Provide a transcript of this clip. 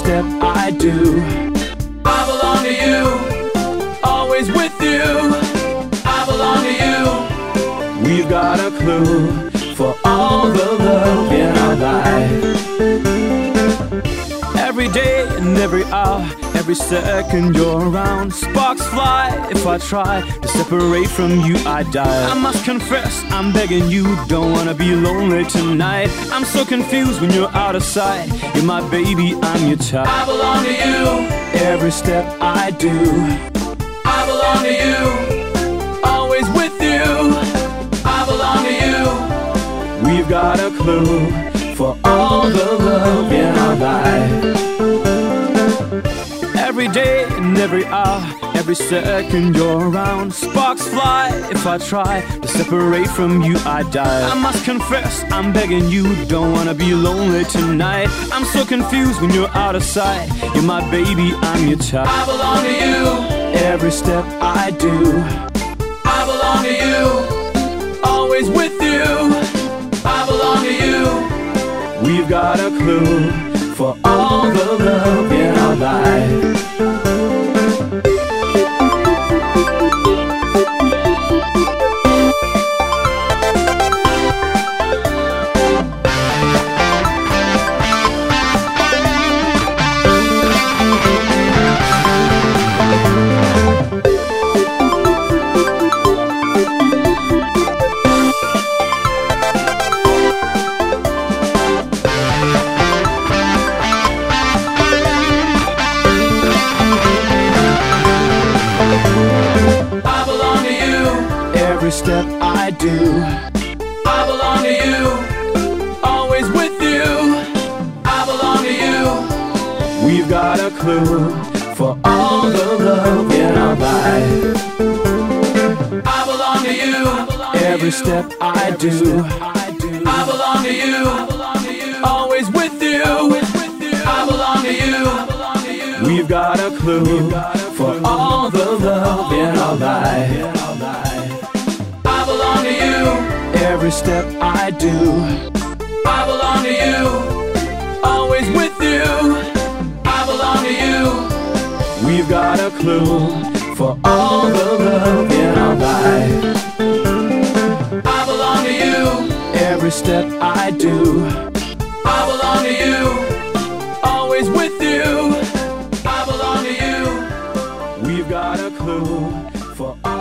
step I do. I belong to you, always with you. I belong to you. We've got a clue for all the love in our life. Every day and every hour, every second you're around. Sparks fly if I try to separate from you, I die. I must confess, I'm begging you, don't wanna be lonely tonight. I'm so confused when you're out of sight. You're my baby, I'm your child. I belong to you, every step I do. I belong to you, always with you. I belong to you. We've got a clue for all the love in our life. Every day and every hour, every second you're around. Sparks fly if I try to separate from you, I die. I must confess, I'm begging you, don't wanna be lonely tonight. I'm so confused when you're out of sight. You're my baby, I'm your child. I belong to you, every step I do. I belong to you, always with you. I belong to you. We've got a clue for all the love in our life. Every step I do. I belong to you, always with you. I belong to you. We've got a clue for all the love in our life. I belong to you, every step I do. I belong to you, always with you. I belong to you. We've got a clue for all the love in our life. I belong to you, every step I do. I belong to you, always with you. I belong to you. We've got a clue for all the love in our life. I belong to you, every step I do. I belong to you, always with you. I belong to you. We've got a clue for all